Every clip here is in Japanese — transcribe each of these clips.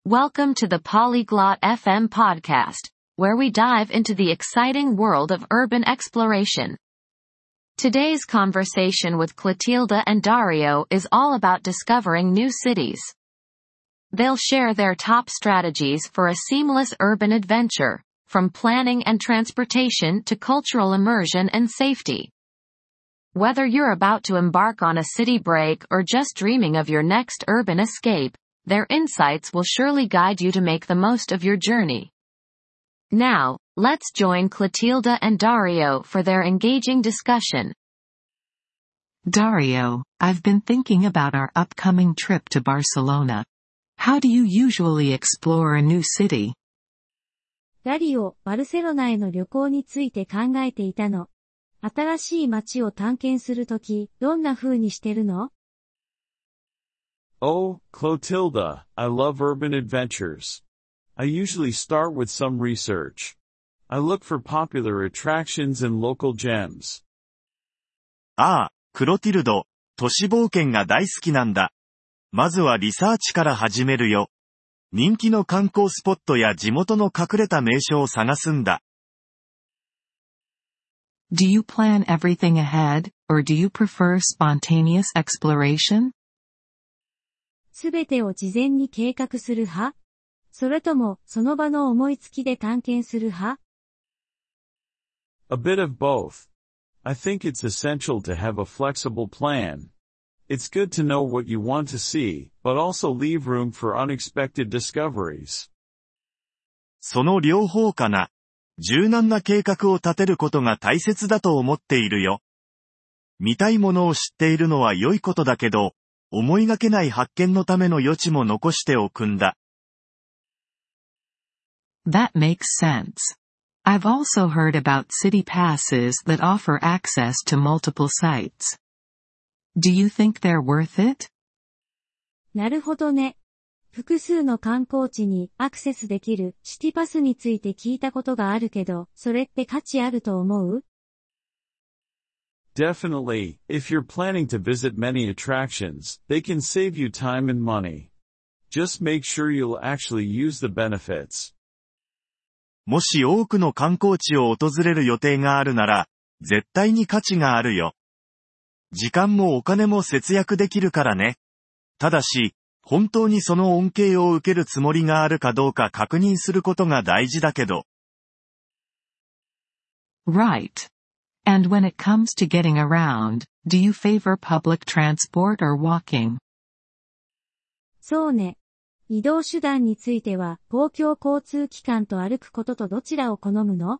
Welcome to the Polyglot FM podcast, where we dive into the exciting world of urban exploration. Today's conversation with Clotilda and Dario is all about discovering new cities. They'll share their top strategies for a seamless urban adventure, from planning and transportation to cultural immersion and safety. Whether you're about to embark on a city break or just dreaming of your next urban escape, their insights will surely guide you to make the most of your journey. Now, let's join Clotilda and Dario for their engaging discussion. Dario, I've been thinking about our upcoming trip to Barcelona. How do you usually explore a new city? ダリオ、バルセロナへの旅行について考えていたの。新しい街を探検するとき、どんな風にしてるの? Oh, Clotilda, I love urban adventures. I usually start with some research. I look for popular attractions and local gems. ああ、クロティルド、都市冒険が大好きなんだ。まずはリサーチから始めるよ。人気の観光スポットや地元の隠れた名所を探すんだ。 Do you plan everything ahead, or do you prefer spontaneous exploration? すべてを事前に計画する派? それとも、その場の思いつきで探検する派? A bit of both. I think it's essential to have a flexible plan. It's good to know what you want to see, but also leave room for unexpected discoveries. その両方かな。柔軟な計画を立てることが大切だと思っているよ。見たいものを知っているのは良いことだけど、思いがけない発見のための余地も残しておくんだ。 That makes sense. I've also heard about city passes that offer access to multiple sites. Do you think they're worth it? なるほどね。複数の観光地にアクセスできるシティパスについて聞いたことがあるけど、それって価値あると思う? Definitely, if you're planning to visit many attractions, they can save you time and money. Just make sure you'll actually use the benefits. もし多くの観光地を訪れる予定があるなら、絶対に価値があるよ。時間もお金も節約できるからね。ただし、本当にその恩恵を受けるつもりがあるかどうか確認することが大事だけど。 Right. And when it comes to getting around, do you favor public transport or walking? そうね。移動手段については、公共交通機関と歩くこととどちらを好むの?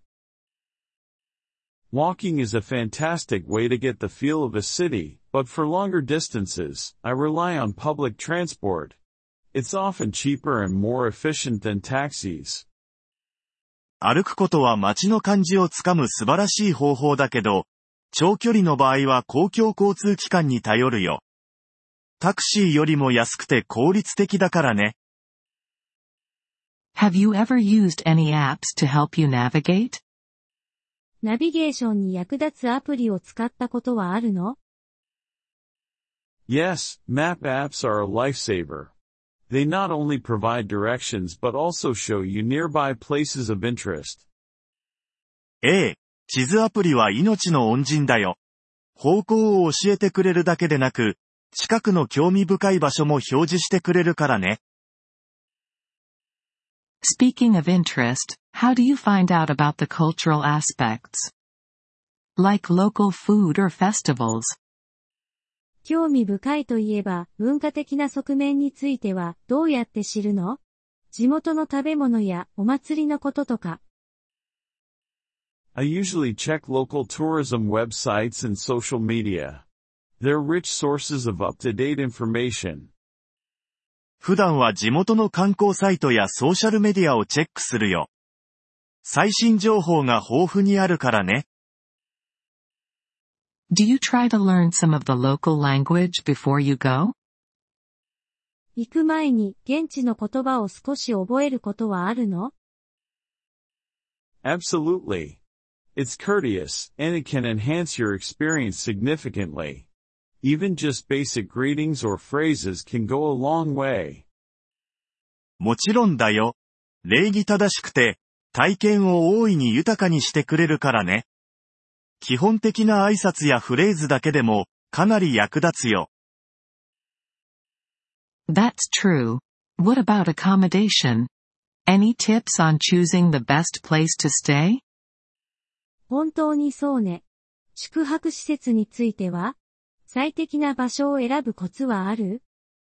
Walking is a fantastic way to get the feel of a city, but for longer distances, I rely on public transport. It's often cheaper and more efficient than taxis. 歩くことは街の感じをつかむ素晴らしい方法だけど、長距離の場合は公共交通機関に頼るよ。タクシーよりも安くて効率的だからね。 Have you ever used any apps to help you navigate? ナビゲーションに役立つアプリを使ったことはあるの? Yes, map apps are a lifesaver. They not only provide directions but also show you nearby places of interest. ええ、地図アプリは命の恩人だよ。方向を教えてくれるだけでなく、近くの興味深い場所も表示してくれるからね。 Speaking of interest, how do you find out about the cultural aspects? Like local food or festivals? 興味深いといえば、文化的な側面については、どうやって知るの? 地元の食べ物やお祭りのこととか。 I usually check local tourism websites and social media. They're rich sources of up-to-date information. 普段は地元の観光サイトやソーシャルメディアをチェックするよ。最新情報が豊富にあるからね。 Do you try to learn some of the local language before you go? 行く前に現地の言葉を少し覚えることはあるの? Absolutely. It's courteous, and it can enhance your experience significantly. Even just basic greetings or phrases can go a long way. もちろんだよ。礼儀正しくて、体験を大いに豊かにしてくれるからね。基本的な挨拶やフレーズだけでも、かなり役立つよ。 That's true. What about accommodation? Any tips on choosing the best place to stay? 本当にそうね。宿泊施設については、最適な場所を選ぶコツはある？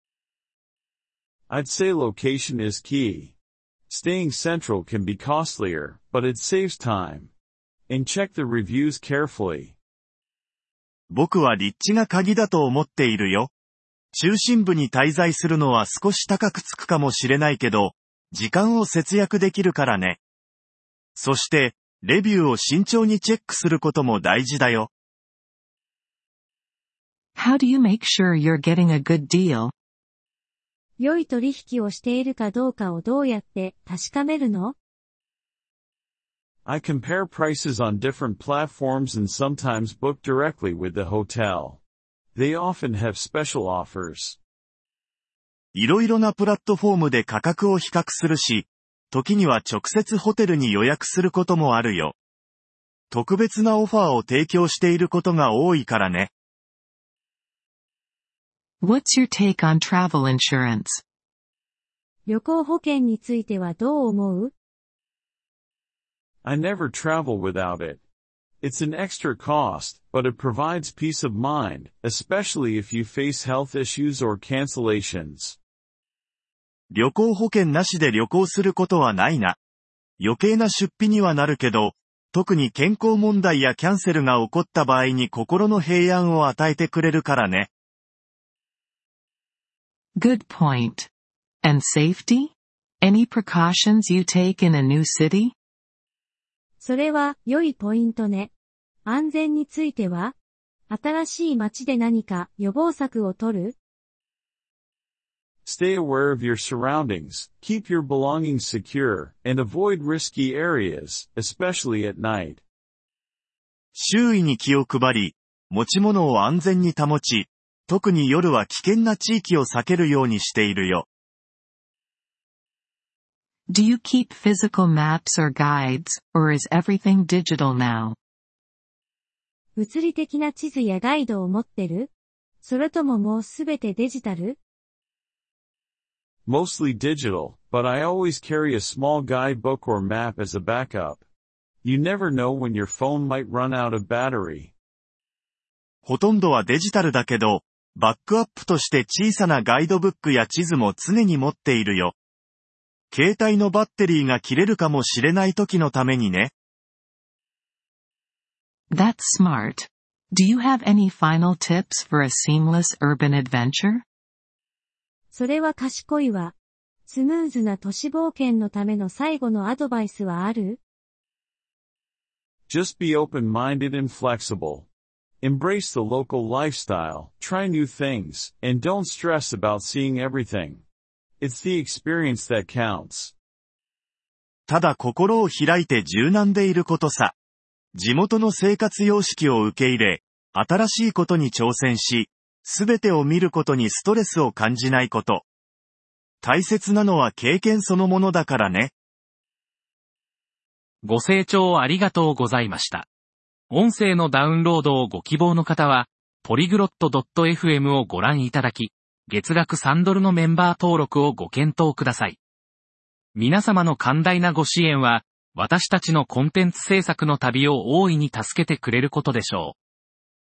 I'd say location is key. Staying central can be costlier, but it saves time. And check the reviews carefully. 僕は立地が鍵だと思っているよ。中心部に滞在するのは少し高くつくかもしれないけど、時間を節約できるからね。そして、レビューを慎重にチェックすることも大事だよ。 How do you make sure you're getting a good deal? 良い取引をしているかどうかをどうやって確かめるの？ I compare prices on different platforms and sometimes book directly with the hotel. They often have special offers. いろいろなプラットフォームで価格を比較するし、時には直接ホテルに予約することもあるよ。特別なオファーを提供していることが多いからね。 What's your take on travel insurance? 旅行保険についてはどう思う？ I never travel without it. It's an extra cost, but it provides peace of mind, especially if you face health issues or cancellations. 旅行保険なしで旅行することはないな。余計な出費にはなるけど、特に健康問題やキャンセルが起こった場合に心の平安を与えてくれるからね。 Good point. And safety? Any precautions you take in a new city? それは良いポイントね。安全については？新しい街で何か予防策を取る？ Stay aware of your surroundings, keep your belongings secure, and avoid risky areas, especially at night. 周囲に気を配り、持ち物を安全に保ち、特に夜は危険な地域を避けるようにしているよ。 Do you keep physical maps or guides, or is everything digital now? 物理的な地図やガイドを持ってる？それとももうすべてデジタル？ Mostly digital, but I always carry a small guidebook or map as a backup. You never know when your phone might run out of battery. ほとんどはデジタルだけど、バックアップとして小さなガイドブックや地図も常に持っているよ。携帯のバッテリーが切れるかもしれない時のためにね。 That's smart. Do you have any final tips for a seamless urban adventure? それは賢いわ。スムーズな都市冒険のための最後のアドバイスはある？ Just be open-minded and flexible. Embrace the local lifestyle, try new things, and don't stress about seeing everything. It's the experience that counts. ただ心を開いて柔軟でいることさ。地元の生活様式を受け入れ、新しいことに挑戦し、すべてを見ることにストレスを感じないこと。大切なのは経験そのものだからね。 ご清聴ありがとうございました。音声のダウンロードをご希望の方は、polyglot.fm をご覧いただき、月額$3のメンバー登録をご検討ください。皆様の寛大なご支援は、私たちのコンテンツ制作の旅を大いに助けてくれることでしょう。